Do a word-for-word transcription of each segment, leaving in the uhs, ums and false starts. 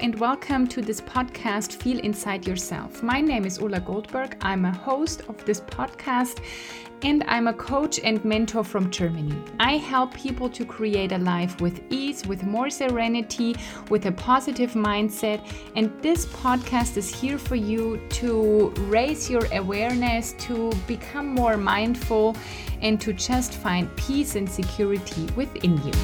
and welcome to this podcast, Feel Inside Yourself. My name is Ulla Goldberg. I'm a host of this podcast and I'm a coach and mentor from Germany. I help people to create a life with ease, with more serenity, with a positive mindset. And this podcast is here for you to raise your awareness, to become more mindful, and to just find peace and security within you.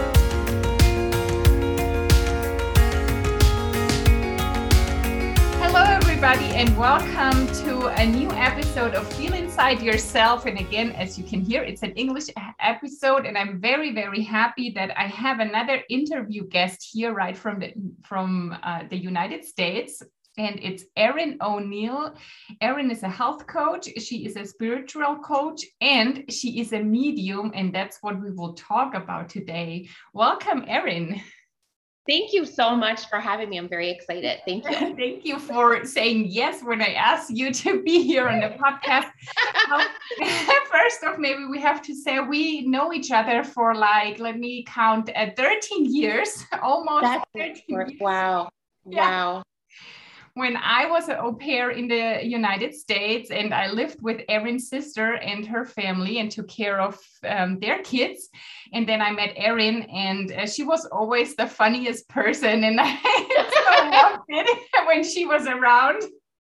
Everybody, and welcome to a new episode of Feel Inside Yourself. And again, as you can hear, it's an English episode, and I'm very, very happy that I have another interview guest here, right from the from uh, the United States. And it's Erin O'Neill. Erin is a health coach. She is a spiritual coach, and she is a medium, and that's what we will talk about today. Welcome, Erin. Thank you so much for having me. I'm very excited. Thank you. Thank you for saying yes when I asked you to be here on the podcast. um, first off, maybe we have to say we know each other for like, let me count, uh, thirteen years, almost That's thirteen years. Wow. Yeah. Wow. When I was an au pair in the United States, and I lived with Erin's sister and her family and took care of um, their kids. And then I met Erin, and uh, she was always the funniest person. And I so loved it when she was around.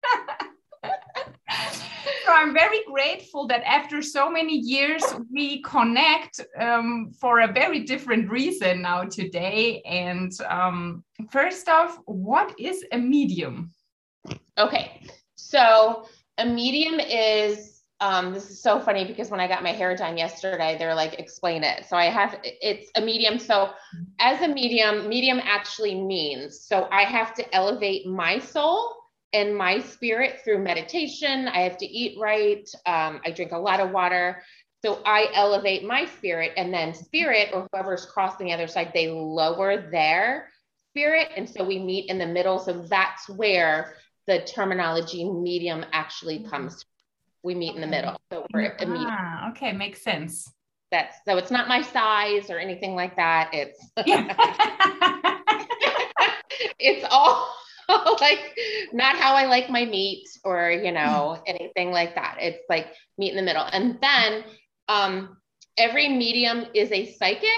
So I'm very grateful that after so many years, we connect um, for a very different reason now today. And um, first off, what is a medium? Okay, so a medium is, um, this is so funny because when I got my hair done yesterday, they're like, explain it. So I have, it's a medium. So as a medium, medium actually means, so I have to elevate my soul and my spirit through meditation. I have to eat right. Um, I drink a lot of water. So I elevate my spirit, and then spirit, or whoever's crossing the other side, they lower their spirit. And so we meet in the middle. So that's where the terminology medium actually comes. We meet okay. in the middle. So we're a medium. Ah, okay, makes sense. That's so it's not my size or anything like that. It's it's all like not how I like my meat or you know anything like that. It's like meet in the middle. And then um every medium is a psychic.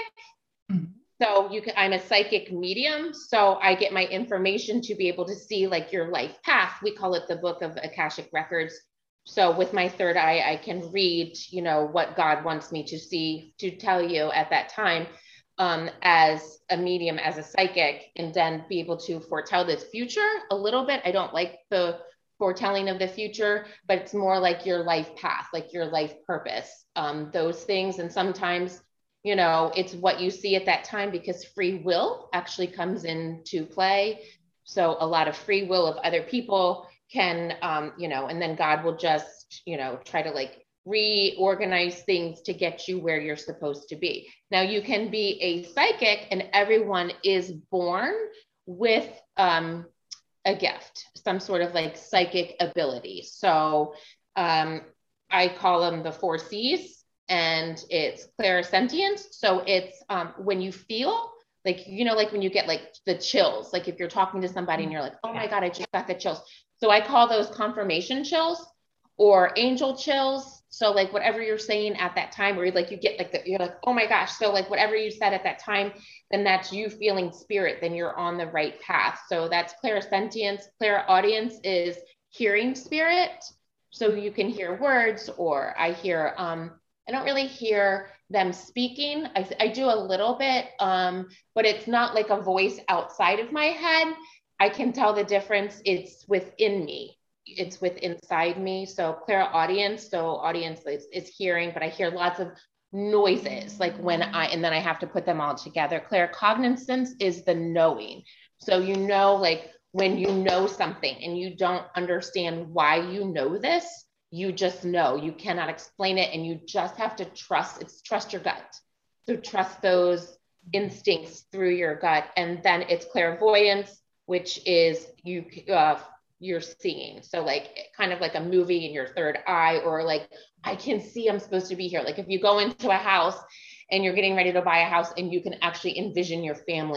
So you can, I'm a psychic medium. So I get my information to be able to see like your life path. We call it the Book of Akashic Records. So with my third eye, I can read, you know, what God wants me to see, to tell you at that time um, as a medium, as a psychic, and then be able to foretell the future a little bit. I don't like the foretelling of the future, but it's more like your life path, like your life purpose, um, those things. And sometimes you know, it's what you see at that time because free will actually comes into play. So a lot of free will of other people can, um, you know, and then God will just, you know, try to like reorganize things to get you where you're supposed to be. Now you can be a psychic, and everyone is born with um, a gift, some sort of like psychic ability. So um, I call them the four C's. And it's clairsentience. So it's um, when you feel like, you know, like when you get like the chills, like if you're talking to somebody and you're like, oh my God, I just got the chills. So I call those confirmation chills or angel chills. So like whatever you're saying at that time, where like you get like the, you're like, oh my gosh. So like whatever you said at that time, then that's you feeling spirit, then you're on the right path. So that's clairsentience. Clairaudience is hearing spirit. So you can hear words, or I hear, um, I don't really hear them speaking. I, I do a little bit, um, but it's not like a voice outside of my head. I can tell the difference. It's within me. It's with inside me. So clairaudience, so audience is, is hearing, but I hear lots of noises, like when I, and then I have to put them all together. Claircognizance is the knowing. So you know, like when you know something and you don't understand why you know this, you just know, you cannot explain it, and you just have to trust, it's trust your gut. So trust those instincts through your gut. And then it's clairvoyance, which is you, uh, you're seeing. So like kind of like a movie in your third eye, or like, I can see I'm supposed to be here. Like if you go into a house and you're getting ready to buy a house and you can actually envision your family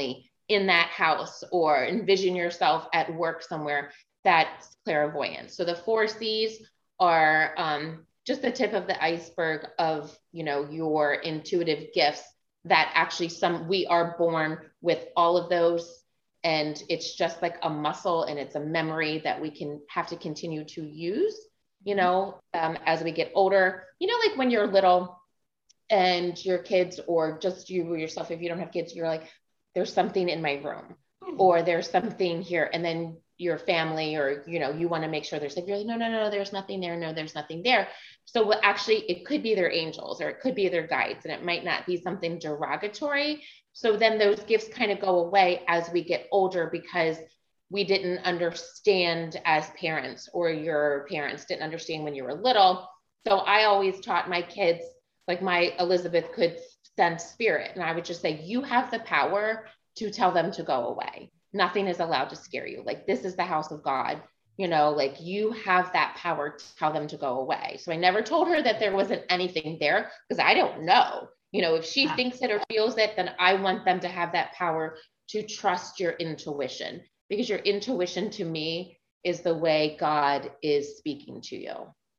in that house, or envision yourself at work somewhere. That's clairvoyance. So the four C's are um, just the tip of the iceberg of, you know, your intuitive gifts that actually some, we are born with all of those. And it's just like a muscle, and it's a memory that we can have to continue to use, you know, um, as we get older. You know, like when you're little and your kids, or just you yourself, if you don't have kids, you're like, there's something in my room, or there's something here. And then your family, or, you know, you want to make sure there's like, you're like, no, no, no, there's nothing there. No, there's nothing there. So actually it could be their angels, or it could be their guides, and it might not be something derogatory. So then those gifts kind of go away as we get older, because we didn't understand as parents, or your parents didn't understand when you were little. So I always taught my kids, like my Elizabeth could sense spirit. And I would just say, you have the power to tell them to go away. Nothing is allowed to scare you. Like, this is the house of God, you know, like you have that power to tell them to go away. So I never told her that there wasn't anything there, because I don't know, you know, if she yeah. thinks it or feels it, then I want them to have that power to trust your intuition, because your intuition to me is the way God is speaking to you.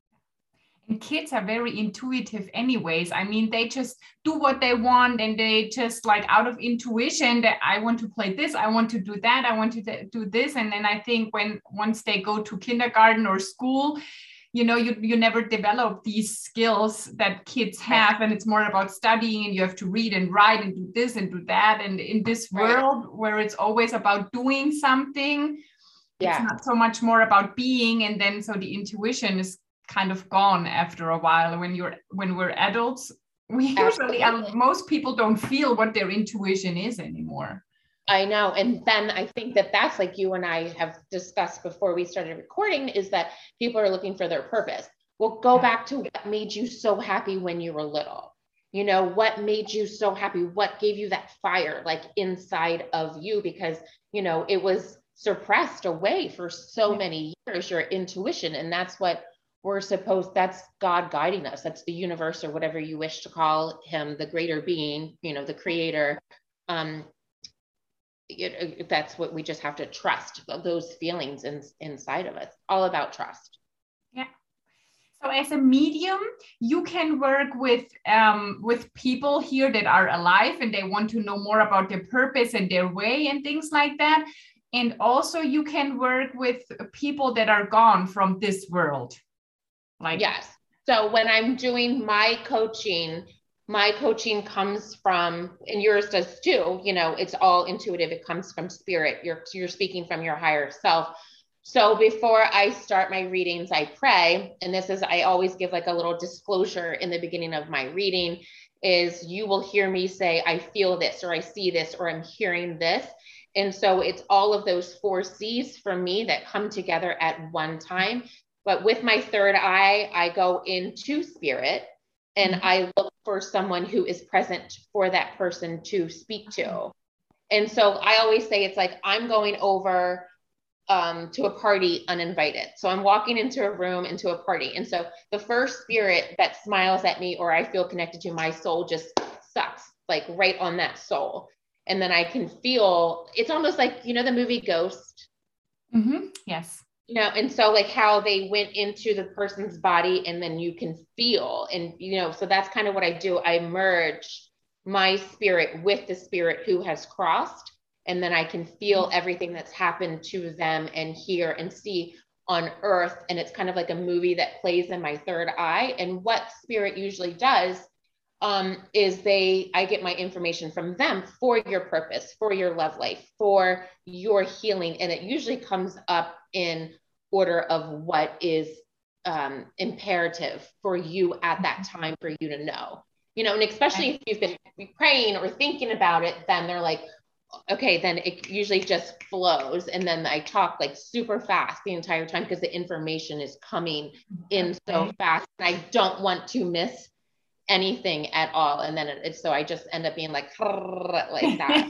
And kids are very intuitive anyways. I mean, they just do what they want, and they just like out of intuition that I want to play this, I want to do that, I want to do this. And then I think when once they go to kindergarten or school, you know, you, you never develop these skills that kids have. And it's more about studying, and you have to read and write and do this and do that. And in this world right. where it's always about doing something, yeah. it's not so much more about being. And then so the intuition is kind of gone after a while. When you're when we're adults, we usually are, most people don't feel what their intuition is anymore. I know. And then I think that that's like you and I have discussed before we started recording, is that people are looking for their purpose. Well, go back to what made you so happy when you were little. You know, what made you so happy? What gave you that fire like inside of you? Because, you know, it was suppressed away for so many years, your intuition. And that's what we're supposed, that's God guiding us. That's the universe, or whatever you wish to call him, the greater being, you know, the creator. Um, it, that's what we just have to trust, those feelings in, inside of us, all about trust. Yeah. So as a medium, you can work with, um, with people here that are alive, and they want to know more about their purpose and their way and things like that. And also you can work with people that are gone from this world. Like, yes. So when I'm doing my coaching, my coaching comes from, and yours does too, you know, it's all intuitive. It comes from spirit. You're, you're speaking from your higher self. So before I start my readings, I pray. And this is, I always give like a little disclosure in the beginning of my reading, is you will hear me say, I feel this, or I see this, or I'm hearing this. And so it's all of those four C's for me that come together at one time. But with my third eye, I go into spirit, and mm-hmm. I look for someone who is present for that person to speak to. And so I always say, it's like, I'm going over um, to a party uninvited. So I'm walking into a room, into a party. And so the first spirit that smiles at me, or I feel connected to, my soul just sucks like right on that soul. And then I can feel, it's almost like, you know, the movie Ghost. Mm-hmm. Yes. You know, and so like how they went into the person's body, and then you can feel, and, you know, so that's kind of what I do. I merge my spirit with the spirit who has crossed, and then I can feel everything that's happened to them, and hear and see on earth. And it's kind of like a movie that plays in my third eye. And what spirit usually does um, is they, I get my information from them for your purpose, for your love life, for your healing. And it usually comes up in order of what is um, imperative for you at that time for you to know, you know, and especially if you've been praying or thinking about it, then they're like, okay, then it usually just flows. And then I talk like super fast the entire time, because the information is coming in so fast, and I don't want to miss anything at all. And then it's, so I just end up being like, like that.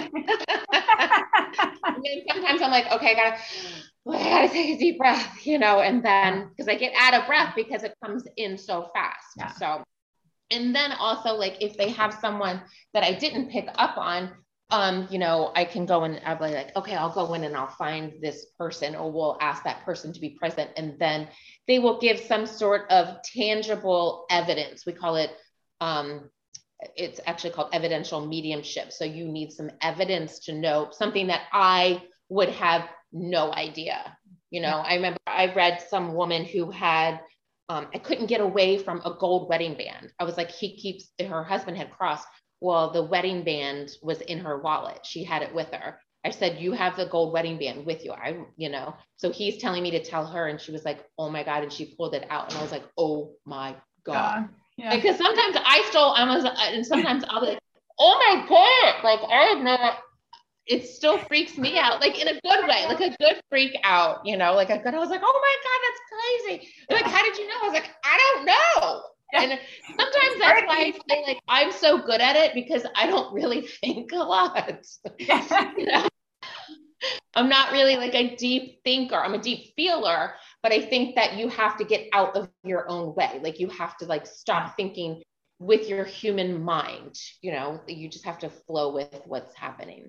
And then sometimes I'm like, okay, I gotta, I gotta take a deep breath, you know, and then, because I get out of breath because it comes in so fast. Yeah. So, and then also like, if they have someone that I didn't pick up on, um, you know, I can go and I'll be like, okay, I'll go in and I'll find this person, or we'll ask that person to be present. And then they will give some sort of tangible evidence. We call it, um, it's actually called evidential mediumship. So you need some evidence to know something that I would have no idea. You know, I remember I read some woman who had, um, I couldn't get away from a gold wedding band. I was like, he keeps, her husband had crossed. Well, the wedding band was in her wallet. She had it with her. I said, you have the gold wedding band with you. I, you know, so he's telling me to tell her. And she was like, oh my God. And she pulled it out. And I was like, oh my God. Uh, yeah. Because sometimes I still, I was, and sometimes I'll be like, oh my God. Like, I have no, it still freaks me out, like in a good way, like a good freak out, you know, like a good, I was like, oh my God, that's crazy. They're like, how did you know? I was like, I don't know. And sometimes that's why I say like, I'm so good at it because I don't really think a lot. You know? I'm not really like a deep thinker. I'm a deep feeler, but I think that you have to get out of your own way. Like you have to like stop thinking with your human mind, you know, you just have to flow with what's happening.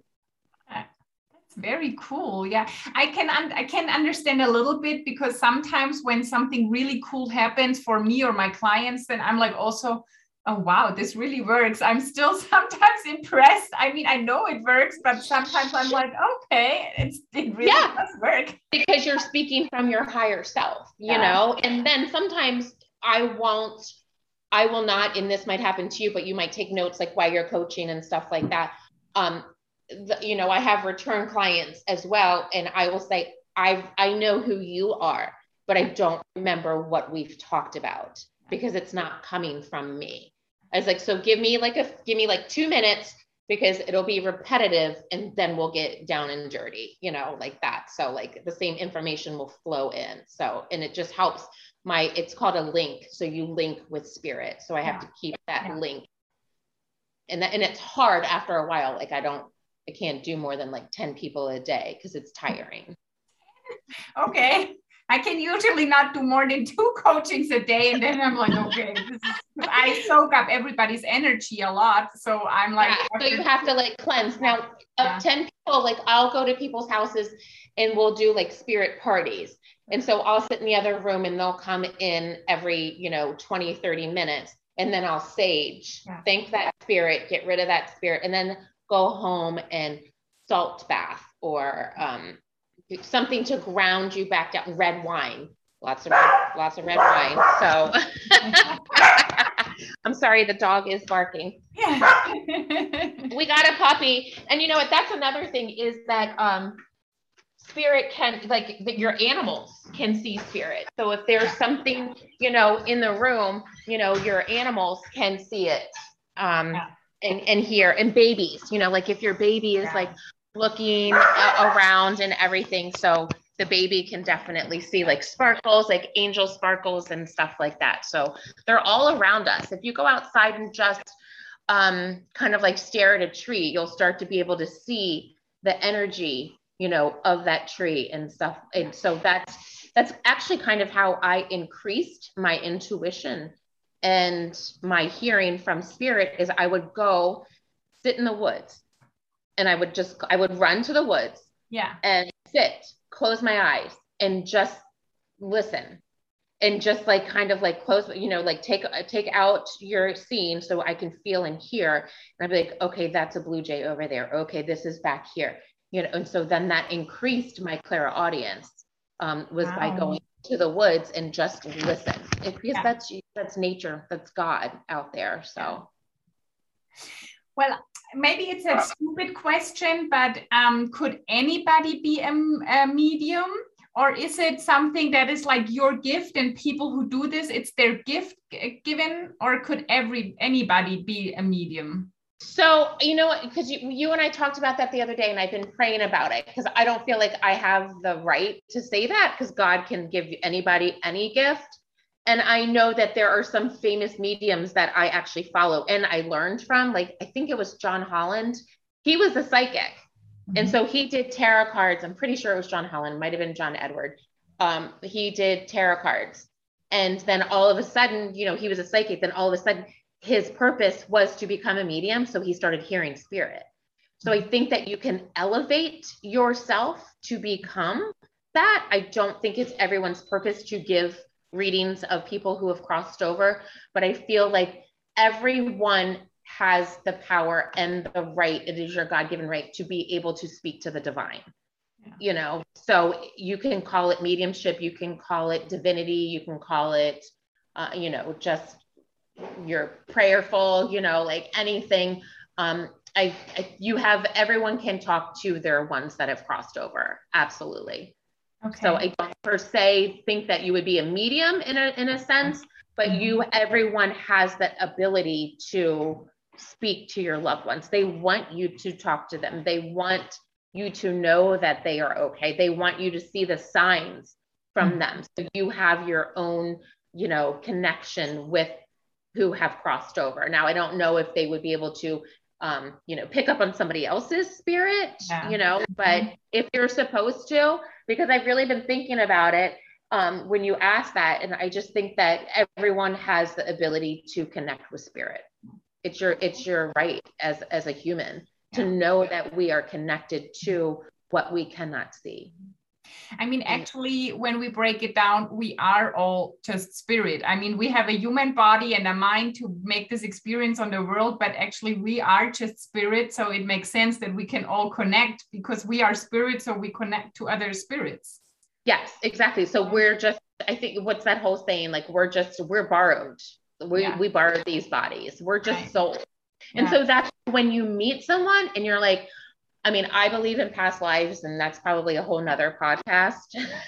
Very cool. Yeah, I can un- I can understand a little bit, because sometimes when something really cool happens for me or my clients, then I'm like also, oh wow, this really works. I'm still sometimes impressed. I mean, I know it works, but sometimes I'm like, okay, it's, it really yeah, does work. Because you're speaking from your higher self, you yeah. know. And then sometimes I won't, I will not, and this might happen to you, but you might take notes like while you're coaching and stuff like that. Um, The, you know, I have return clients as well. And I will say, I I know who you are, but I don't remember what we've talked about because it's not coming from me. I was like, so give me like a, give me like two minutes because it'll be repetitive and then we'll get down and dirty, you know, like that. So like the same information will flow in. So, and it just helps my, it's called a link. So you link with spirit. So I have to keep that yeah. link. And that, and it's hard after a while. Like I don't, I can't do more than like ten people a day because it's tiring. Okay. I can usually not do more than two coachings a day. And then I'm like, okay, this is, I soak up everybody's energy a lot. So I'm like, yeah, so you have to like cleanse. Now, yeah. of ten people, like I'll go to people's houses and we'll do like spirit parties. And so I'll sit in the other room and they'll come in every, you know, twenty, thirty minutes. And then I'll sage, yeah. thank that spirit, get rid of that spirit. And then go home and salt bath or um, something to ground you back down. Red wine, lots of red, lots of red wine. So I'm sorry, the dog is barking. Yeah. We got a puppy, and you know what? That's another thing is that um, spirit can, like that your animals can see spirit. So if there's something, you know, in the room, you know, your animals can see it. Um, yeah. And, and here and babies, you know, like if your baby is yeah. like looking a- around and everything. So the baby can definitely see like sparkles, like angel sparkles and stuff like that. So they're all around us. If you go outside and just um, kind of like stare at a tree, you'll start to be able to see the energy, you know, of that tree and stuff. And so that's, that's actually kind of how I increased my intuition and my hearing from spirit is I would go sit in the woods and I would just, I would run to the woods yeah, and sit, close my eyes and just listen and just like, kind of like close, you know, like take, take out your scene so I can feel and hear. And I'd be like, okay, that's a blue jay over there. Okay, this is back here, you know? And so then that increased my clairaudience um, was wow. by going to the woods and just listen it, because yeah. that's that's nature, that's God out there. So well, maybe it's a stupid question, but um could anybody be a, a medium, or is it something that is like your gift and people who do this, it's their gift given, or could every anybody be a medium? So, you know, because you, you and I talked about that the other day, and I've been praying about it because I don't feel like I have the right to say that because God can give anybody any gift. And I know that there are some famous mediums that I actually follow and I learned from, like, I think it was John Holland. He was a psychic. Mm-hmm. And so he did tarot cards. I'm pretty sure it was John Holland, might've been John Edward. Um, he did tarot cards. And then all of a sudden, you know, he was a psychic. Then all of a sudden, his purpose was to become a medium. So he started hearing spirit. So I think that you can elevate yourself to become that. I don't think it's everyone's purpose to give readings of people who have crossed over, but I feel like everyone has the power and the right. It is your God-given right to be able to speak to the divine. Yeah. You know, so you can call it mediumship, you can call it divinity, you can call it, uh, you know, just you're prayerful, you know, like anything. Um, I, I, you have, everyone can talk to their ones that have crossed over. Absolutely. Okay. So I don't per se think that you would be a medium in a, in a sense, but mm-hmm. you, everyone has that ability to speak to your loved ones. They want you to talk to them. They want you to know that they are okay. They want you to see the signs from mm-hmm. them. So you have your own, you know, connection with who have crossed over. Now, I don't know if they would be able to, um, you know, pick up on somebody else's spirit, yeah. you know, but mm-hmm. if you're supposed to, because I've really been thinking about it um, when you ask that. And I just think that everyone has the ability to connect with spirit. It's your, it's your right as, as a human yeah. to know that we are connected to what we cannot see. I mean, actually, when we break it down, we are all just spirit. I mean, we have a human body and a mind to make this experience on the world, but actually we are just spirit. So it makes sense that we can all connect because we are spirit. So we connect to other spirits. Yes, exactly. So we're just, I think what's that whole saying? Like, we're just, we're borrowed. We, yeah. we borrowed these bodies. We're just right. souls. And yeah. so that's when you meet someone and you're like, I mean, I believe in past lives, and that's probably a whole nother podcast.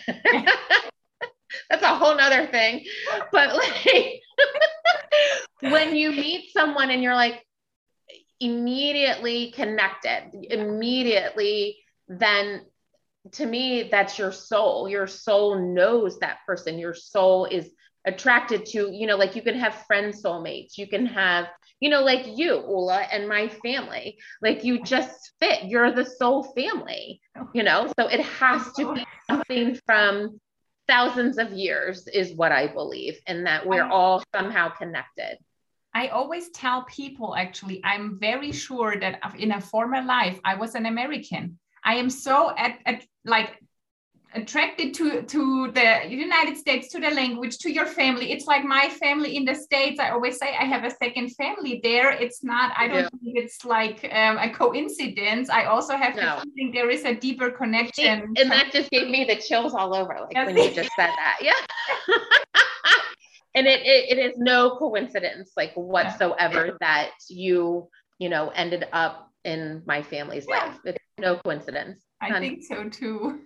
That's a whole nother thing. But like, when you meet someone and you're like immediately connected, immediately, then to me, that's your soul. Your soul knows that person. Your soul is attracted to, you know, like you can have friend soulmates. You can have, you know, like you, Ula, and my family, like you just fit. You're the soul family, you know, so it has to be something from thousands of years is what I believe, and that we're all somehow connected. I always tell people, actually, I'm very sure that in a former life, I was an American. I am so at, at like attracted to to the United States, to the language, to your family. It's like my family in the States. I always say I have a second family there. It's not, I don't yeah. think it's like um, a coincidence. I also have no. to think there is a deeper connection. And that just gave me the chills all over, like yes. when you just said that. Yeah. And it, it it is no coincidence, like whatsoever, yeah. that you, you know, ended up in my family's yeah. life. It's no coincidence. I um, think so too.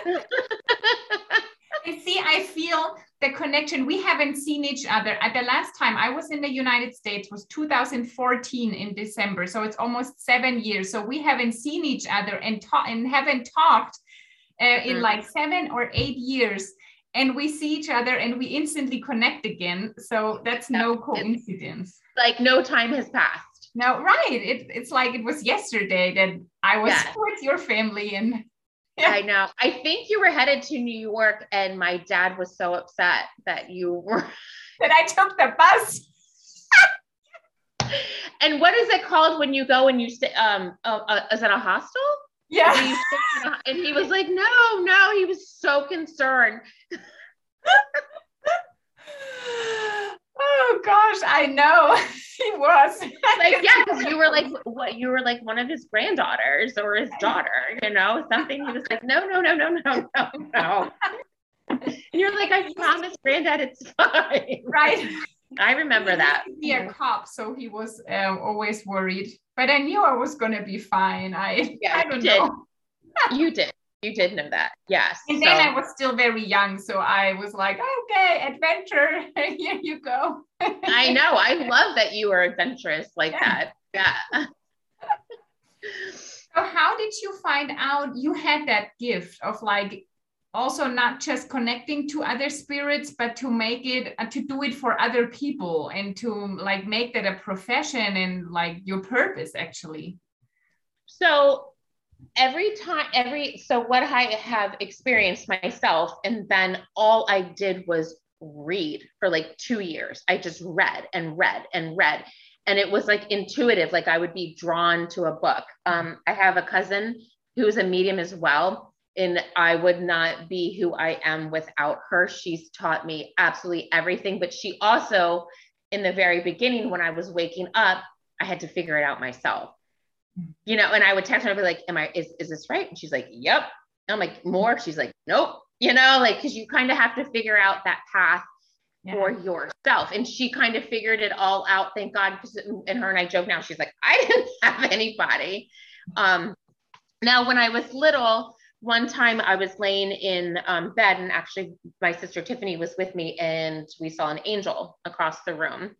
You see, I feel the connection. We haven't seen each other. At the last time I was in the United States was two thousand fourteen in December. So it's almost seven years. So we haven't seen each other and, ta- and haven't talked uh, mm-hmm. in like seven or eight years. And we see each other and we instantly connect again. So that's no coincidence. Like no time has passed. No, right. It, it's like it was yesterday that I was yeah. with your family. And yeah. I know. I think you were headed to New York and my dad was so upset that you were. That I took the bus. And what is it called when you go and you stay? Um, uh, uh, is it a hostel? Yeah. And he was like, no, no, he was so concerned. Oh gosh, I know. He was. Like, yeah, because you were like, what, you were like one of his granddaughters or his daughter, you know, something. He was like, no, no, no, no, no, no, no. And you're like, I promised granddad it's fine. Right. I remember that. He was a cop, so he was um, always worried. But I knew I was going to be fine. I, yeah, I don't you did. know. You did. You did know that. Yes. And so. Then I was still very young. So I was like, okay, adventure. Here you go. I know. I love that you were adventurous like yeah. that. Yeah. So how did you find out you had that gift of like, also not just connecting to other spirits, but to make it, uh, to do it for other people and to like make that a profession and like your purpose actually? So every time, every, so what I have experienced myself, and then all I did was read for like two years. I just read and read and read. And it was like intuitive, like I would be drawn to a book. Um, I have a cousin who's a medium as well, and I would not be who I am without her. She's taught me absolutely everything, but she also, in the very beginning, when I was waking up, I had to figure it out myself, you know, and I would text her and be like, am I, is, is this right? And she's like, yep. And I'm like, more? She's like, nope. You know, like, cause you kind of have to figure out that path yeah. for yourself. And she kind of figured it all out. Thank God. And her and I joke now, she's like, I didn't have anybody. Um, now when I was little, one time I was laying in um, bed, and actually my sister Tiffany was with me, and we saw an angel across the room.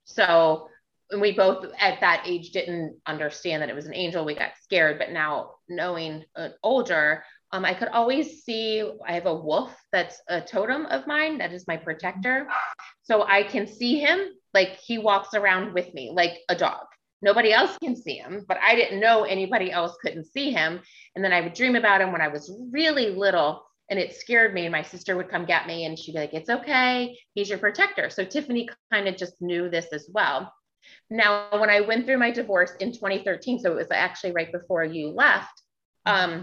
So and we both at that age didn't understand that it was an angel. We got scared, but now knowing uh, older, um, I could always see, I have a wolf that's a totem of mine. That is my protector. So I can see him, like he walks around with me like a dog. Nobody else can see him, but I didn't know anybody else couldn't see him. And then I would dream about him when I was really little, and it scared me. And my sister would come get me and she'd be like, it's okay, he's your protector. So Tiffany kind of just knew this as well. Now, when I went through my divorce in twenty thirteen, so it was actually right before you left, um,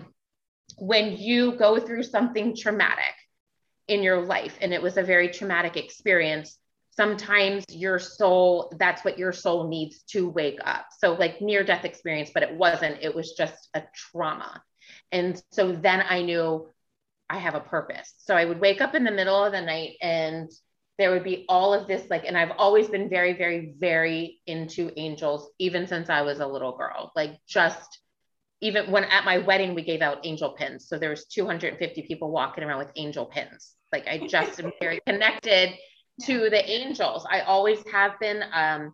when you go through something traumatic in your life, and it was a very traumatic experience, sometimes your soul, that's what your soul needs to wake up. So like near death experience, but it wasn't, it was just a trauma. And so then I knew I have a purpose. So I would wake up in the middle of the night, and there would be all of this, like, and I've always been very, very, very into angels, even since I was a little girl, like just even when at my wedding, we gave out angel pins. So there was two hundred fifty people walking around with angel pins. Like I just am very connected to the angels. I always have been. Um,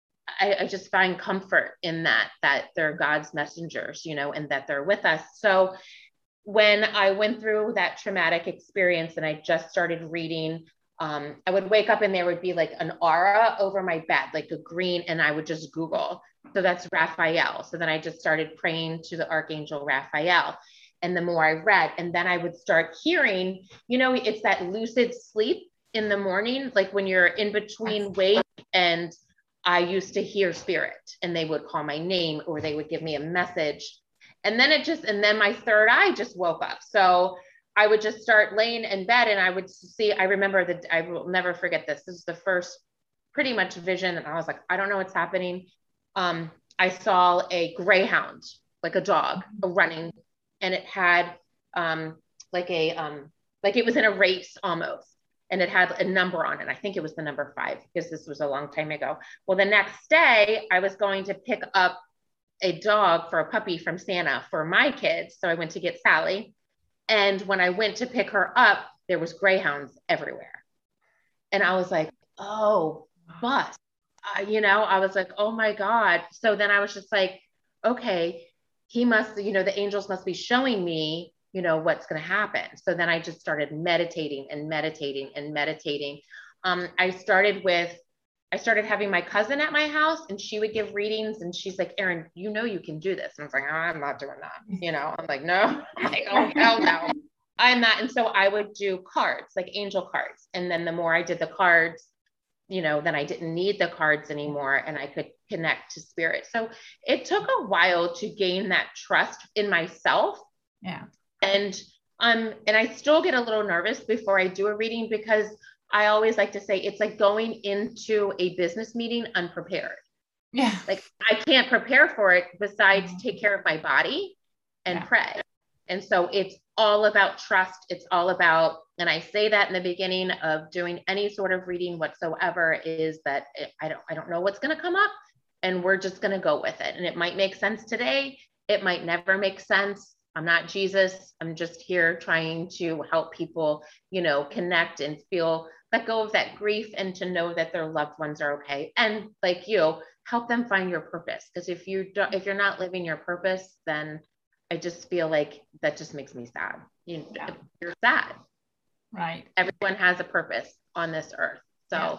I, I just find comfort in that, that they're God's messengers, you know, and that they're with us. So when I went through that traumatic experience and I just started reading, um, I would wake up and there would be like an aura over my bed, like a green, and I would just Google. So that's Raphael. So then I just started praying to the Archangel Raphael. And the more I read, and then I would start hearing, you know, it's that lucid sleep in the morning, like when you're in between wake, and I used to hear spirit, and they would call my name or they would give me a message. And then it just, and then my third eye just woke up. So I would just start laying in bed, and I would see, I remember that, I will never forget this. This is the first pretty much vision. And I was like, I don't know what's happening. Um, I saw a greyhound, like a dog running, and it had um, like a, um, like it was in a race almost. And it had a number on it. I think it was the number five, because this was a long time ago. Well, the next day I was going to pick up a dog for a puppy from Santa for my kids. So I went to get Sally. And when I went to pick her up, there was greyhounds everywhere. And I was like, oh, bus, uh, you know, I was like, oh my God. So then I was just like, okay, he must, you know, the angels must be showing me, you know, what's going to happen. So then I just started meditating and meditating and meditating. Um, I started with, I started having my cousin at my house, and she would give readings, and she's like, Erin, you know, you can do this. And I was like, oh, I'm not doing that. You know, I'm like, no, I'm like, oh, hell no, I'm not. And so I would do cards, like angel cards. And then the more I did the cards, you know, then I didn't need the cards anymore, and I could connect to spirit. So it took a while to gain that trust in myself. Yeah. And um, and I still get a little nervous before I do a reading, because I always like to say it's like going into a business meeting unprepared. Yeah. Like I can't prepare for it besides take care of my body and yeah. pray. And so it's all about trust. It's all about, and I say that in the beginning of doing any sort of reading whatsoever, is that it, I don't, I don't know what's going to come up, and we're just going to go with it. And it might make sense today. It might never make sense. I'm not Jesus. I'm just here trying to help people, you know, connect and feel, let go of that grief, and to know that their loved ones are okay. And like you, help them find your purpose. Because if you don't, if you're not living your purpose, then I just feel like that just makes me sad. You, yeah. You're sad. Right. Everyone has a purpose on this earth. So, yeah.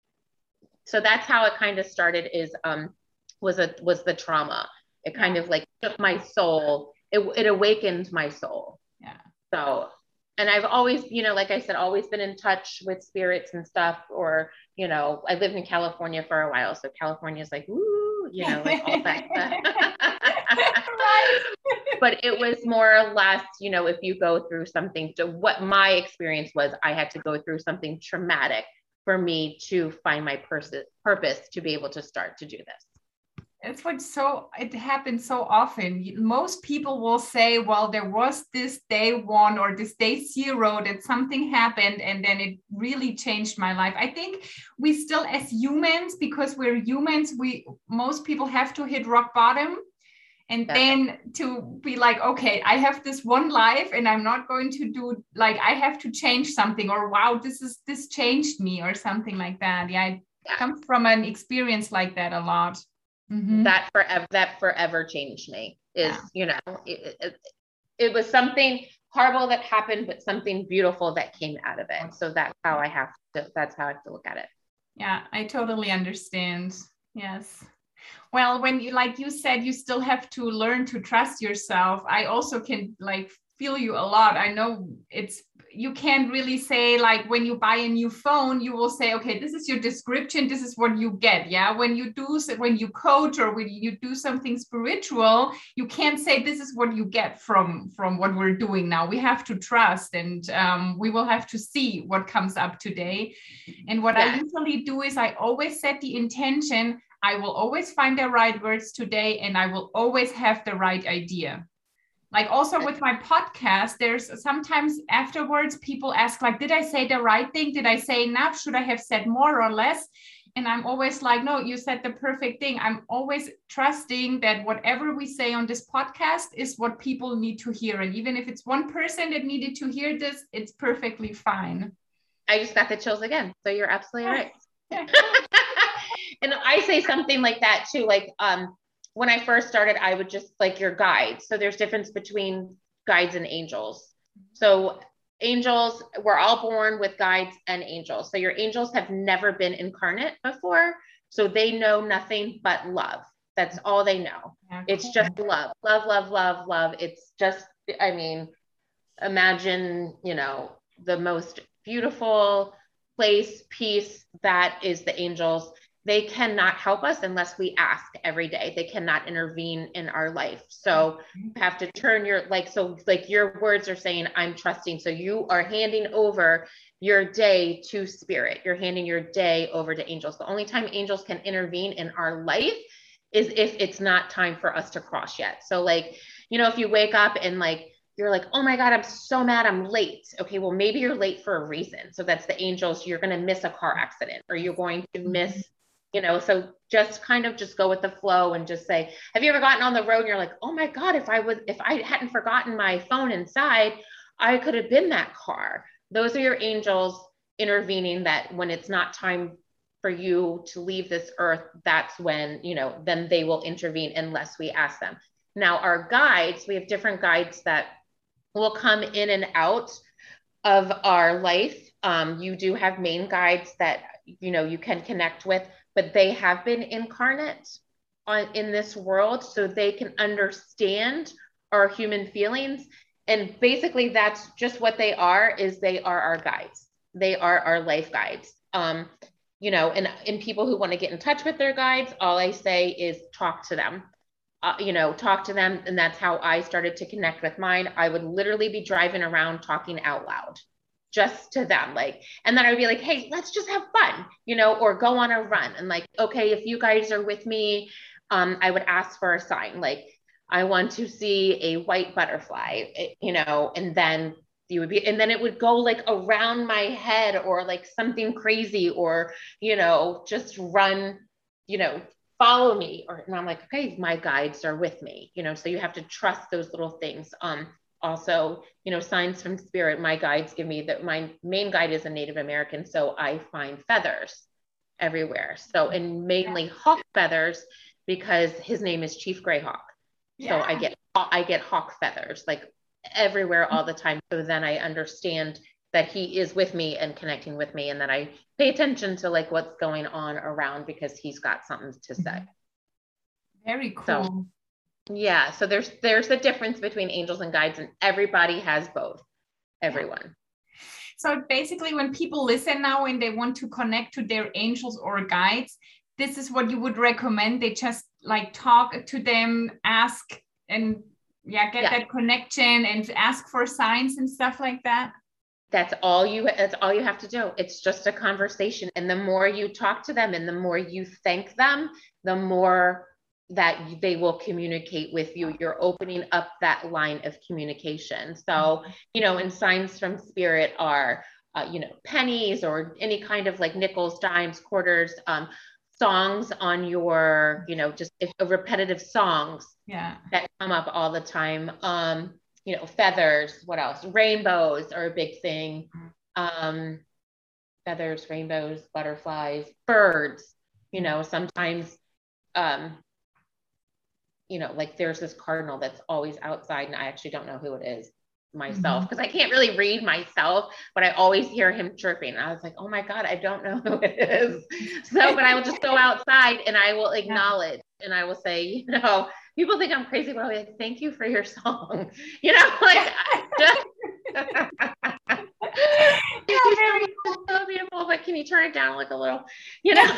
so that's how it kind of started, is, um, was a, was the trauma. It kind yeah. of like took my soul. It, it awakened my soul. Yeah. So and I've always, you know, like I said, always been in touch with spirits and stuff, or, you know, I lived in California for a while. So California is like, woo, you know, like all that stuff. Right. But it was more or less, you know, if you go through something, to what my experience was, I had to go through something traumatic for me to find my pers- purpose to be able to start to do this. It's like, so it happens so often. Most people will say, well, there was this day one or this day zero that something happened and then it really changed my life. I think we still, as humans, because we're humans, we most people have to hit rock bottom. And yeah. then to be like, okay, I have this one life and I'm not going to do, like, I have to change something, or wow, this is, this changed me, or something like that. Yeah, I yeah. come from an experience like that a lot. Mm-hmm. That forever, that forever changed me is, yeah. you know, it, it, it was something horrible that happened, but something beautiful that came out of it. So that's how I have to, that's how I have to look at it. Yeah, I totally understand. Yes. Well, when you, like you said, you still have to learn to trust yourself. I also can like feel you a lot. I know it's, you can't really say, like, when you buy a new phone, you will say, okay, this is your description, this is what you get. Yeah. When you do, when you coach or when you do something spiritual, you can't say this is what you get from, from what we're doing now. We have to trust, and um, we will have to see what comes up today. And what yeah. I usually do is I always set the intention, I will always find the right words today, and I will always have the right idea. Like also with my podcast, there's sometimes afterwards people ask, like, did I say the right thing? Did I say enough? Should I have said more or less? And I'm always like, no, you said the perfect thing. I'm always trusting that whatever we say on this podcast is what people need to hear. And even if it's one person that needed to hear this, it's perfectly fine. I just got the chills again. So you're absolutely right. And I say something like that too. Like, um, when I first started, I would just like your guides. So there's difference between guides and angels. So angels, we're all born with guides and angels. So your angels have never been incarnate before. So they know nothing but love. That's all they know. Yeah, it's cool. Just love, love, love, love, love. It's just, I mean, imagine, you know, the most beautiful place, peace, that is the angels. They cannot help us unless we ask every day. They cannot intervene in our life. So you have to turn your, like, so like your words are saying, I'm trusting. So you are handing over your day to spirit. You're handing your day over to angels. The only time angels can intervene in our life is if it's not time for us to cross yet. So like, you know, if you wake up and like, you're like, oh my God, I'm so mad, I'm late. Okay, well, maybe you're late for a reason. So that's the angels. You're going to miss a car accident, or you're going to miss, you know, so just kind of just go with the flow and just say, have you ever gotten on the road and you're like, oh my God, if I was, if I hadn't forgotten my phone inside, I could have been that car. Those are your angels intervening, that when it's not time for you to leave this earth, that's when, you know, then they will intervene unless we ask them. Now, our guides, we have different guides that will come in and out of our life. Um, you do have main guides that, you know, you can connect with, but they have been incarnate on, in this world, so they can understand our human feelings. And basically that's just what they are, is they are our guides. They are our life guides. Um, you know, and, and people who want to get in touch with their guides, all I say is talk to them. Uh, you know, talk to them. And that's how I started to connect with mine. I would literally be driving around talking out loud just to them. Like, and then I would be like, hey, let's just have fun, you know, or go on a run. And like, okay, if you guys are with me, um, I would ask for a sign. Like, I want to see a white butterfly, you know, and then you would be, and then it would go like around my head, or like something crazy, or, you know, just run, you know, follow me. Or, and I'm like, okay, my guides are with me, you know, so you have to trust those little things. Um, also, you know, signs from spirit, my guides give me that. My main guide is a Native American. So I find feathers everywhere. So, and mainly hawk feathers, because his name is Chief Greyhawk. Yeah. So I get, I get hawk feathers like everywhere all the time. So then I understand that he is with me and connecting with me, and that I pay attention to like what's going on around, because he's got something to say. Very cool. So, yeah. So there's, there's a difference between angels and guides, and everybody has both. everyone. So basically, when people listen now and they want to connect to their angels or guides, this is what you would recommend. They just like talk to them, ask, and yeah, get yeah. that connection and ask for signs and stuff like that. That's all you, that's all you have to do. It's just a conversation. And the more you talk to them and the more you thank them, the more that they will communicate with you. You're opening up that line of communication. So, you know, and signs from spirit are, uh, you know, pennies or any kind of like nickels, dimes, quarters, um, songs on your, you know, just if, repetitive songs yeah. that come up all the time. Um, you know, feathers, what else? Rainbows are a big thing. Um, feathers, rainbows, butterflies, birds, you know, sometimes, um, you know, like there's this cardinal that's always outside and I actually don't know who it is myself because mm-hmm. I can't really read myself, but I always hear him chirping. I was like, oh my God, I don't know who it is. So, but I will just go outside and I will acknowledge yeah. and I will say, you know, people think I'm crazy, but I'll be like, thank you for your song. You know, like, just, it's so beautiful, but can you turn it down like a little, you know,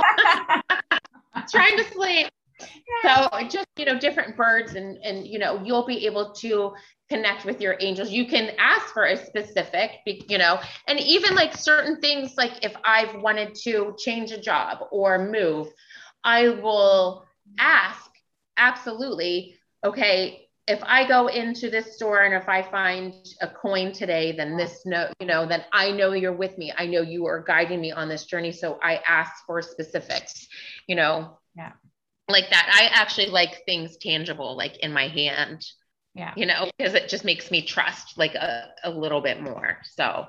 trying to sleep. So just, you know, different birds and, and, you know, you'll be able to connect with your angels. You can ask for a specific, you know, and even like certain things, like if I've wanted to change a job or move, I will ask absolutely, okay, if I go into this store and if I find a coin today, then this, no, you know, then I know you're with me. I know you are guiding me on this journey. So I ask for specifics, you know, yeah. like that. I actually like things tangible, like in my hand, yeah, you know, because it just makes me trust like a, a little bit more. So,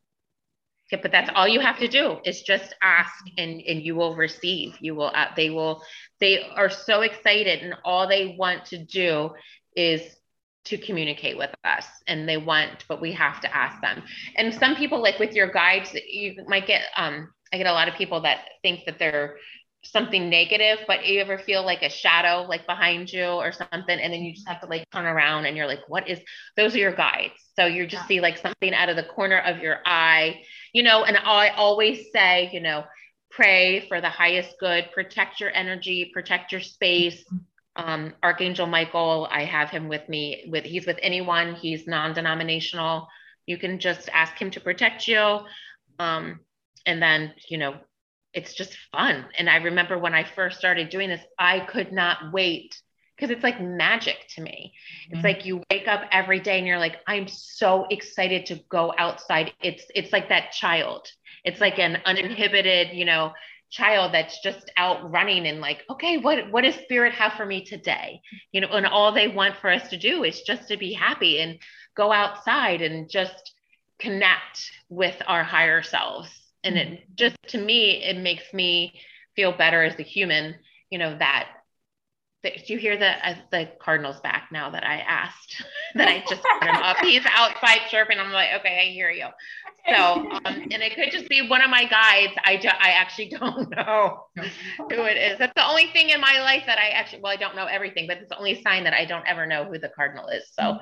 yeah, but that's all you have to do is just ask and, and you will receive, you will, uh, they will, they are so excited and all they want to do is to communicate with us and they want, but we have to ask them. And some people, like with your guides, you might get, um, I get a lot of people that think that they're something negative, but you ever feel like a shadow like behind you or something, and then you just have to like turn around and you're like, what is, those are your guides. So you just yeah. see like something out of the corner of your eye, you know, and I always say, you know, pray for the highest good, protect your energy, protect your space. Um, Archangel Michael, I have him with me with, he's with anyone, he's non-denominational. You can just ask him to protect you. Um, and then, you know, it's just fun. And I remember when I first started doing this, I could not wait because it's like magic to me. Mm-hmm. It's like you wake up every day and you're like, I'm so excited to go outside. It's, it's like that child. It's like an uninhibited, you know, child that's just out running and like, okay, what, what does spirit have for me today? You know, and all they want for us to do is just to be happy and go outside and just connect with our higher selves. And it just, to me, it makes me feel better as a human, you know, that, that do you hear the, uh, the Cardinal's back now that I asked, that I just put him up. He's outside chirping. I'm like, okay, I hear you. So, um, and it could just be one of my guides. I, do, I actually don't know who it is. That's the only thing in my life that I actually, well, I don't know everything, but it's the only sign that I don't ever know who the Cardinal is. So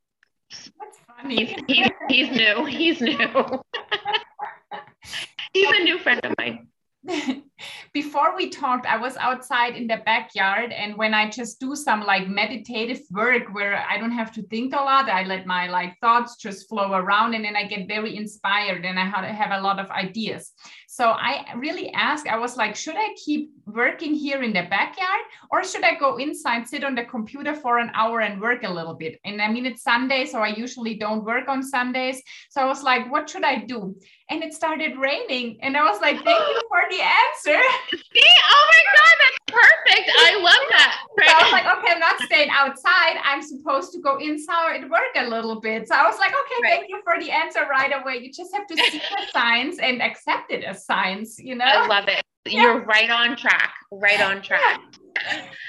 that's funny. He's, he's, he's new. He's new. He's a new friend of mine. Before we talked, I was outside in the backyard, and when I just do some like meditative work where I don't have to think a lot, I let my like thoughts just flow around, and then I get very inspired and I have a lot of ideas. So I really asked, I was like, should I keep working here in the backyard or should I go inside, sit on the computer for an hour and work a little bit? And I mean, it's Sunday, so I usually don't work on Sundays. So I was like, what should I do? And it started raining. And I was like, thank you for the answer. See? Oh my God, that's perfect. I love that. Right? So I was like, okay, I'm not staying outside. I'm supposed to go inside and work a little bit. So I was like, okay, right. Thank you for the answer right away. You just have to see the signs and accept it as signs, you know? I love it. Yeah. You're right on track, right on track.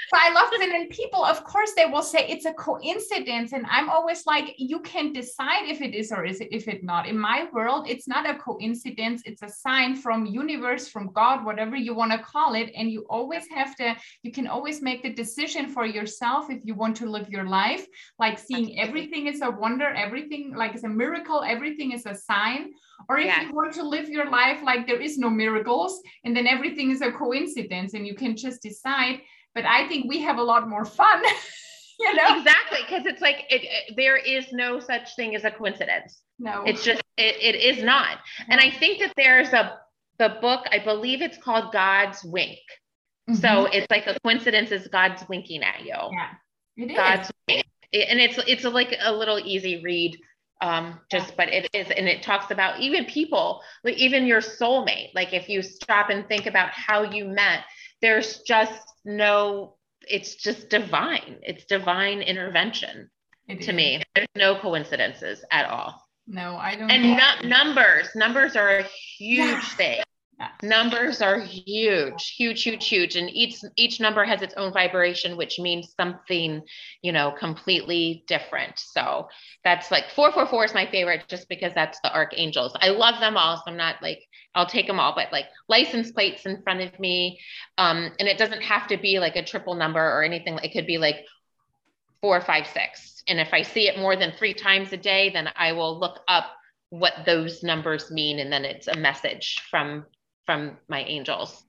So I love it. And then people, of course, they will say it's a coincidence. And I'm always like, you can decide if it is or is it, if it not. In my world, it's not a coincidence. It's a sign from universe, from God, whatever you want to call it. And you always have to, you can always make the decision for yourself if you want to live your life, like seeing everything is a wonder, everything like is a miracle, everything is a sign. Or if yeah. you want to live your life like there is no miracles and then everything is a coincidence and you can just decide. But I think we have a lot more fun, you know? Exactly, because it's like, it, it, there is no such thing as a coincidence. No. It's just, it, it is not. No. And I think that there's a, the book, I believe it's called God's Wink. Mm-hmm. So it's like a coincidence is God's winking at you. Yeah, it is. God's wink. And it's, it's a, like a little easy read. Um, just, yeah. but it is, and it talks about even people, like even your soulmate. Like if you stop and think about how you met, there's just no, it's just divine. It's divine intervention it to is. me. There's no coincidences at all. No, I don't. And no, numbers, numbers are a huge yeah. thing. Yeah. Numbers are huge, huge, huge, huge. And each, each number has its own vibration, which means something, you know, completely different. So that's like four four four is my favorite just because that's the archangels. I love them all. So I'm not like, I'll take them all, but like license plates in front of me. Um, and it doesn't have to be like a triple number or anything. It could be like four, five, six. And if I see it more than three times a day, then I will look up what those numbers mean. And then it's a message from from my angels.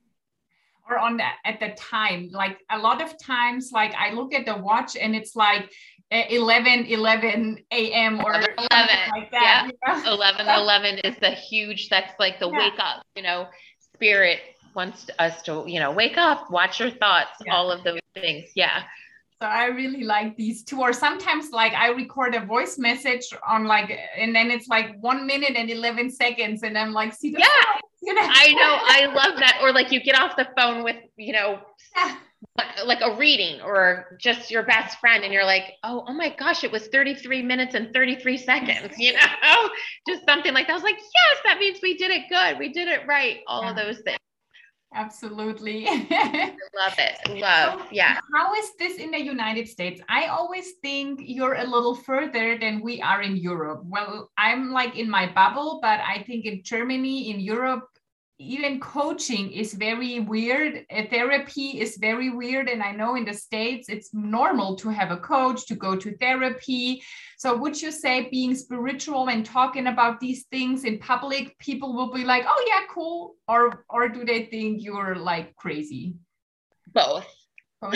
Or on that at the time, like a lot of times, like I look at the watch and it's like eleven eleven a.m. or eleven like that. Yeah. You know? eleven eleven is the huge, that's like the yeah. wake up, you know, spirit wants us to, you know, wake up, watch your thoughts, yeah. all of those things. Yeah. So I really like these two, or sometimes like I record a voice message on like, and then it's like one minute and eleven seconds. And I'm like, see, the yeah, phone, you know? I know. I love that. Or like you get off the phone with, you know, yeah. like a reading or just your best friend. And you're like, oh, oh my gosh, it was thirty-three minutes and thirty-three seconds, you know, just something like that. I was like, yes, that means we did it good. We did it right. All yeah. of those things. Absolutely. I love it. Love. So yeah. How is this in the United States? I always think you're a little further than we are in Europe. Well, I'm like in my bubble, but I think in Germany, in Europe, even coaching is very weird. Uh, therapy is very weird. And I know in the States, it's normal to have a coach, to go to therapy. So would you say being spiritual and talking about these things in public, people will be like, oh yeah, cool. Or, or do they think you're like crazy? Both. Both.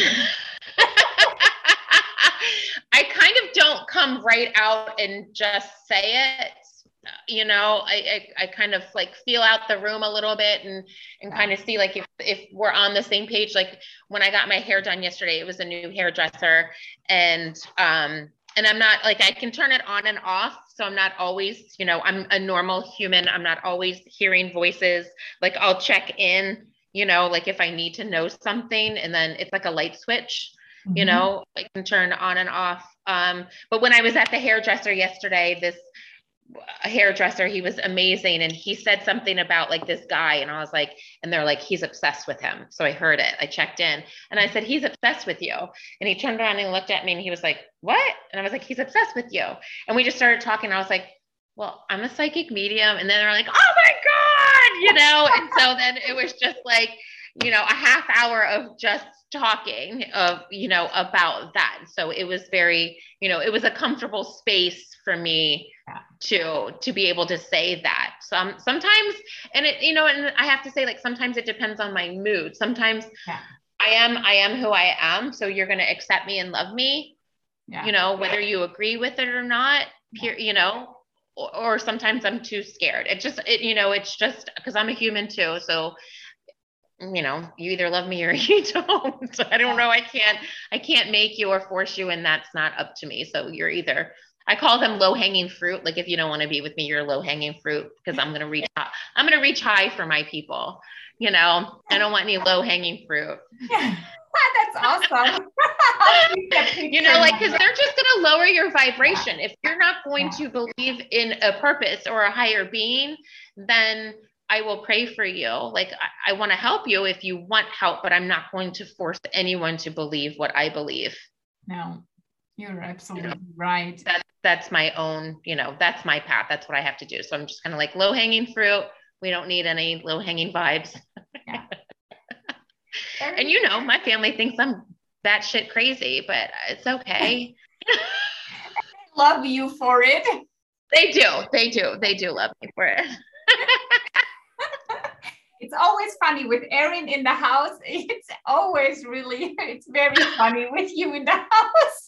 I kind of don't come right out and just say it. You know, I, I I kind of like feel out the room a little bit and and kind of see like if if we're on the same page. Like when I got my hair done yesterday, it was a new hairdresser, and um and I'm not like I can turn it on and off, so I'm not always, you know, I'm a normal human. I'm not always hearing voices. Like I'll check in, you know, like if I need to know something, and then it's like a light switch. Mm-hmm. You know, I can turn on and off. Um, but when I was at the hairdresser yesterday, this a hairdresser, he was amazing. And he said something about like this guy. And I was like, and they're like, he's obsessed with him. So I heard it. I checked in and I said, he's obsessed with you. And he turned around and looked at me and he was like, what? And I was like, he's obsessed with you. And we just started talking. I was like, well, I'm a psychic medium. And then they're like, oh my God, you know? And so then it was just like, you know, a half hour of just talking of, you know, about that. So it was very, you know, it was a comfortable space for me yeah. to, to be able to say that. Some, sometimes, and it, you know, and I have to say, like, sometimes it depends on my mood. Sometimes yeah. I am, I am who I am. So you're going to accept me and love me, yeah. you know, whether you agree with it or not, yeah. you know, or, or sometimes I'm too scared. It just, it, you know, it's just because I'm a human too. So you know, you either love me or you don't. I don't know. I can't, I can't make you or force you. And that's not up to me. So you're either, I call them low hanging fruit. Like if you don't want to be with me, you're low hanging fruit because I'm going to reach high. I'm going to reach high for my people. You know, I don't want any low hanging fruit. Yeah. That's awesome. You know, like, cause they're just going to lower your vibration. If you're not going to believe in a purpose or a higher being, then I I will pray for you. Like, I, I want to help you if you want help, but I'm not going to force anyone to believe what I believe. No, you're absolutely You know, right. That, that's my own, you know, that's my path. That's what I have to do. So I'm just kind of like low hanging fruit. We don't need any low hanging vibes. Yeah. And you know, my family thinks I'm batshit crazy, but it's okay. Love you for it. They do. They do. They do love me for it. It's always funny with Erin in the house. It's always really, it's very funny with you in the house.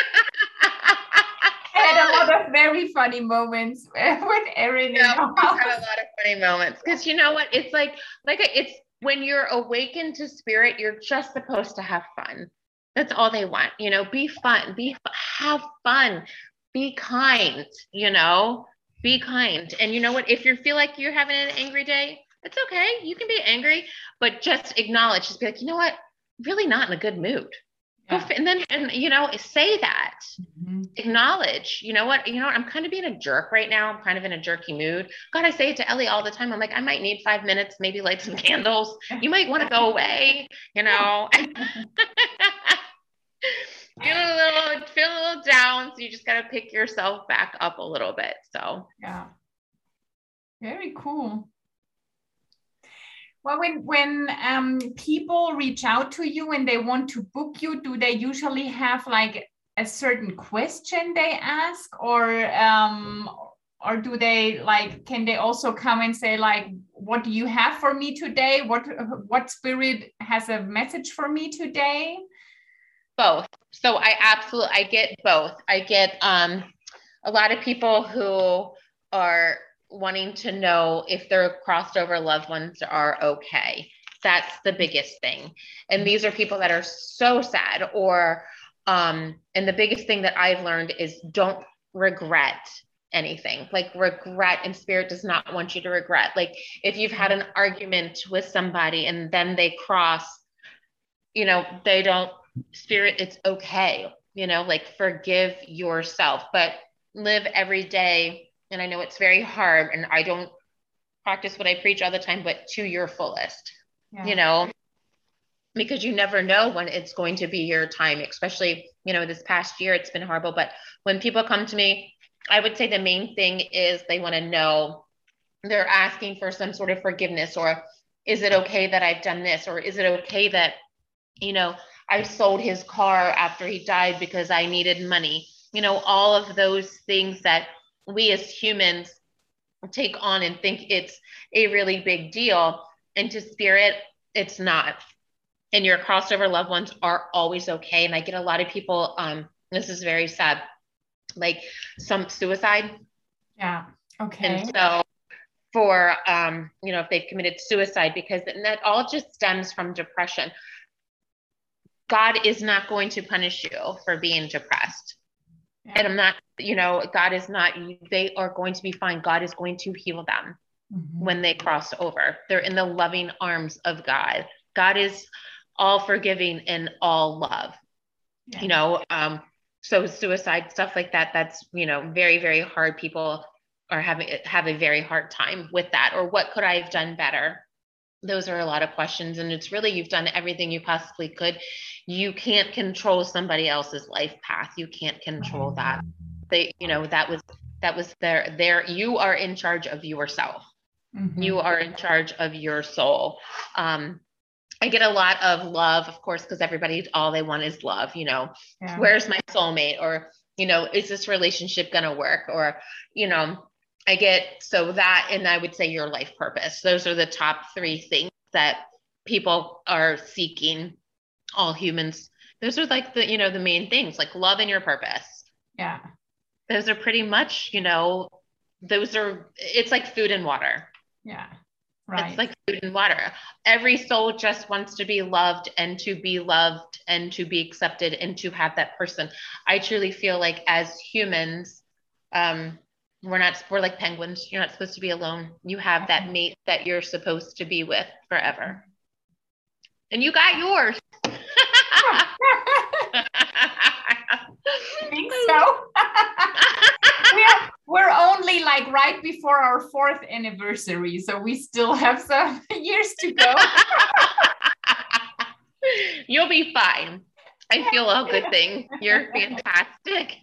I had a lot of very funny moments with Erin Yeah, in the we've house. had a lot of funny moments because you know what? It's like, like it's when you're awakened to spirit, you're just supposed to have fun. That's all they want. You know, be fun, be have fun, be kind. You know, be kind. And you know what? If you feel like you're having an angry day, it's okay. You can be angry, but just acknowledge. Just be like, you know what? Really not in a good mood. Yeah. Go, and then, and you know, say that. Mm-hmm. Acknowledge. You know what? You know what? I'm kind of being a jerk right now. I'm kind of in a jerky mood. God, I say it to Ellie all the time. I'm like, I might need five minutes, maybe light some candles. You might want to go away. You know. Feel a little, feel a little down. So you just got to pick yourself back up a little bit. So yeah, very cool. Well, when when um, people reach out to you and they want to book you, do they usually have like a certain question they ask, or um, or do they like? Can they also come and say like, "What do you have for me today? What what spirit has a message for me today?" Both. So I absolutely I get both. I get um, a lot of people who are wanting to know if their crossed over loved ones are okay. That's the biggest thing. And these are people that are so sad, or um, and the biggest thing that I've learned is don't regret anything. Like regret, and spirit does not want you to regret. Like if you've had an argument with somebody and then they cross, you know, they don't, spirit, it's okay. You know, like forgive yourself, but live every day. And I know it's very hard, and I don't practice what I preach all the time, but to your fullest, yeah. You know, because you never know when it's going to be your time, especially, you know, this past year, it's been horrible. But when people come to me, I would say the main thing is they want to know, they're asking for some sort of forgiveness, or is it okay that I've done this? Or is it okay that, you know, I sold his car after he died because I needed money? You know, all of those things that we as humans take on and think it's a really big deal. And to spirit, it's not. And your crossover loved ones are always okay. And I get a lot of people, um, this is very sad, like some suicide. Yeah. Okay. And so for, um, you know, if they've committed suicide, because and that all just stems from depression. God is not going to punish you for being depressed. Yeah. And I'm not, you know, God is not, they are going to be fine. God is going to heal them mm-hmm. when they cross over. They're in the loving arms of God. God is all forgiving and all love, yeah. you know, um, so suicide, stuff like that, that's, you know, very, very hard. People are having, have a very hard time with that. Or what could I have done better? Those are a lot of questions. And it's really, you've done everything you possibly could. You can't control somebody else's life path. You can't control that. They, you know, that was, that was their, their, you are in charge of yourself. Mm-hmm. You are in charge of your soul. Um, I get a lot of love, of course, because everybody, all they want is love, you know, yeah. Where's my soulmate? Or, you know, is this relationship going to work? Or, you know, I get, so that, and I would say your life purpose. Those are the top three things that people are seeking, all humans. Those are like the, you know, the main things, like love and your purpose. Yeah. Those are pretty much, you know, those are, it's like food and water. Yeah. Right. It's like food and water. Every soul just wants to be loved and to be loved and to be accepted and to have that person. I truly feel like as humans, um, we're not, we're like penguins. You're not supposed to be alone. You have that mate that you're supposed to be with forever. And you got yours. I think so. we, are, we're only like right before our fourth anniversary, so we still have some years to go. You'll be fine. I feel all good things. You're fantastic.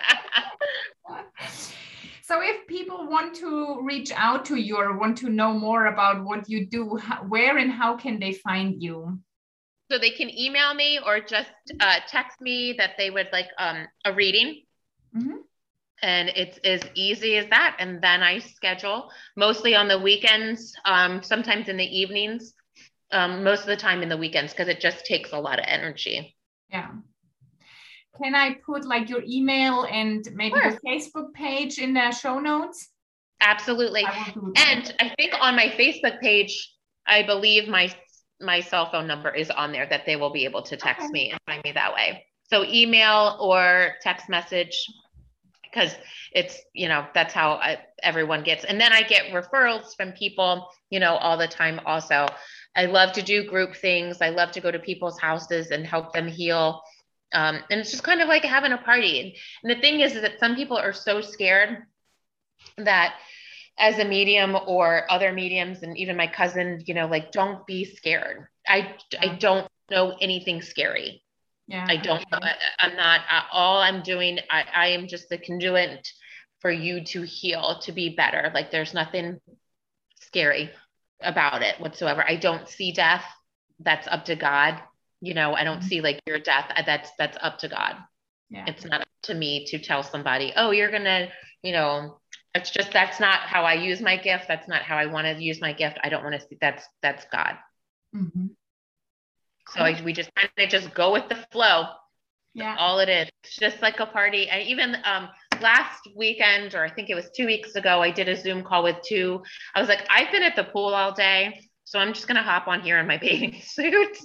So if people want to reach out to you or want to know more about what you do, where and how can they find you? So they can email me or just uh, text me that they would like um, a reading. Mm-hmm. And it's as easy as that. And then I schedule mostly on the weekends, um, sometimes in the evenings, um, most of the time in the weekends, because it just takes a lot of energy. Yeah. Can I put like your email and maybe sure. your Facebook page in the show notes? Absolutely. I and I think on my Facebook page, I believe my my cell phone number is on there that they will be able to text okay. me and find me that way. So email or text message, because it's, you know, that's how I, everyone gets. And then I get referrals from people, you know, all the time also. I love to do group things. I love to go to people's houses and help them heal. Um, and it's just kind of like having a party. And, and the thing is, is that some people are so scared that as a medium or other mediums, and even my cousin, you know, like, don't be scared. I, yeah. I don't know anything scary. Yeah, I don't, okay. I, I'm not, I, all I'm doing, I, I am just the conduit for you to heal, to be better. Like, there's nothing scary about it whatsoever. I don't see death. That's up to God. You know, I don't mm-hmm. see like your death. That's, that's up to God. Yeah. It's not up to me to tell somebody, oh, you're going to, you know, it's just, that's not how I use my gift. That's not how I want to use my gift. I don't want to see, that's, that's God. Mm-hmm. So I, we just kind of just go with the flow. Yeah. That's all it is. It's just like a party. I even um, last weekend, or I think it was two weeks ago, I did a Zoom call with two. I was like, I've been at the pool all day, so I'm just going to hop on here in my bathing suit.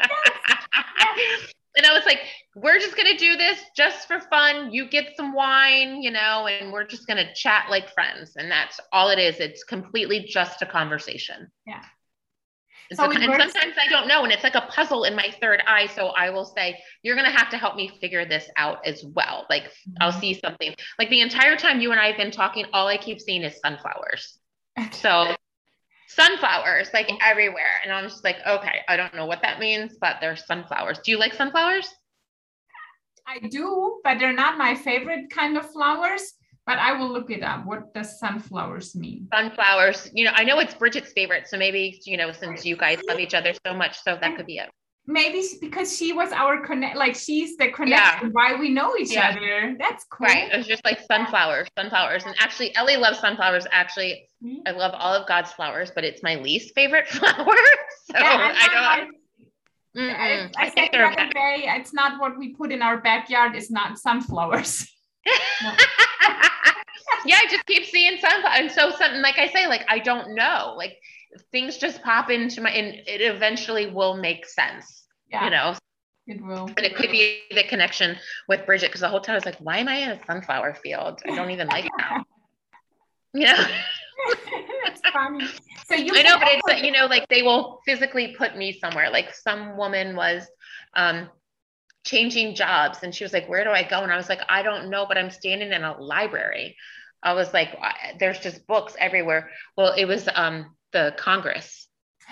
And I was like, we're just going to do this just for fun. You get some wine, you know, and we're just going to chat like friends. And that's all it is. It's completely just a conversation. Yeah. And, so so, and sometimes I don't know. And it's like a puzzle in my third eye. So I will say, you're going to have to help me figure this out as well. Like mm-hmm. I'll see something like the entire time you and I have been talking, all I keep seeing is sunflowers. So sunflowers like everywhere. And I'm just like, okay, I don't know what that means, but there's sunflowers. Do you like sunflowers? I do, but they're not my favorite kind of flowers. But I will look it up. What does sunflowers mean? Sunflowers, you know, I know it's Bridget's favorite. So maybe, you know, since you guys love each other so much, so that could be it. Maybe because she was our connect, like she's the connection, yeah. why we know each yeah. other. That's cool. Right. It was just like sunflowers, sunflowers. And actually, Ellie loves sunflowers. Actually, mm-hmm. I love all of God's flowers, but it's my least favorite flower. So yeah, I don't. I, I, I said the other day, it's not what we put in our backyard. It's not sunflowers. No. Yeah, I just keep seeing sunflowers. And so something, like I say, like, I don't know, like things just pop into my, and it eventually will make sense, yeah, you know, it will. And it could be the connection with Bridget. Cause the whole time I was like, why am I in a sunflower field? I don't even like it now. You know? It's funny. So you I know, but it's like, you know, like they will physically put me somewhere. Like some woman was, um, changing jobs. And she was like, where do I go? And I was like, I don't know, but I'm standing in a library. I was like, there's just books everywhere. Well, it was um, the Congress.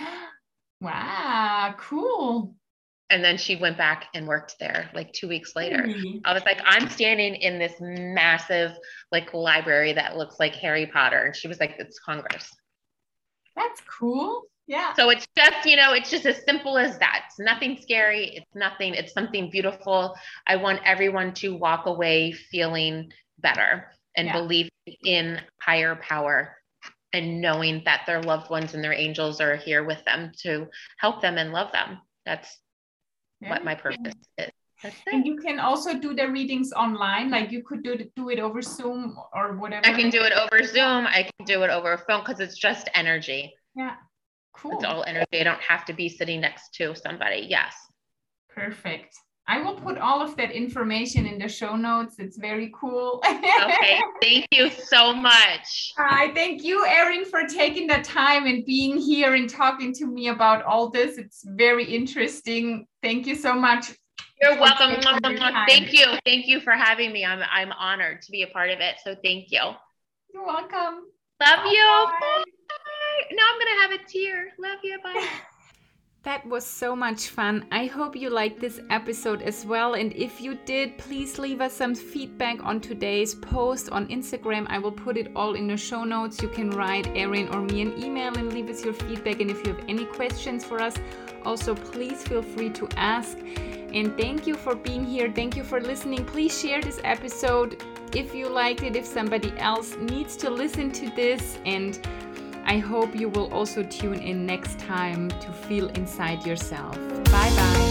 Wow, cool. And then she went back and worked there like two weeks later. Mm-hmm. I was like, I'm standing in this massive like library that looks like Harry Potter. And she was like, it's Congress. That's cool. Yeah. So it's just, you know, it's just as simple as that. It's nothing scary. It's nothing, it's something beautiful. I want everyone to walk away feeling better and yeah. believing in higher power and knowing that their loved ones and their angels are here with them to help them and love them. That's yeah. what my purpose is. And you can also do the readings online. Like you could do it, do it over Zoom or whatever. I can do it over Zoom. I can do it over a phone because it's just energy. Yeah. Cool. It's all energy. I don't have to be sitting next to somebody. Yes. Perfect. I will put all of that information in the show notes. It's very cool. Okay. Thank you so much. I thank you, Erin, for taking the time and being here and talking to me about all this. It's very interesting. Thank you so much. You're welcome. Thank you. Thank you for having me. I'm I'm honored to be a part of it. So thank you. You're welcome. Love Bye. you. Bye. Now I'm going to have a tear. Love you. Bye. That was so much fun. I hope you liked this episode as well. And if you did, please leave us some feedback on today's post on Instagram. I will put it all in the show notes. You can write Erin or me an email and leave us your feedback. And if you have any questions for us, also please feel free to ask. And thank you for being here. Thank you for listening. Please share this episode if you liked it, if somebody else needs to listen to this. And I hope you will also tune in next time to feel inside yourself. Bye bye.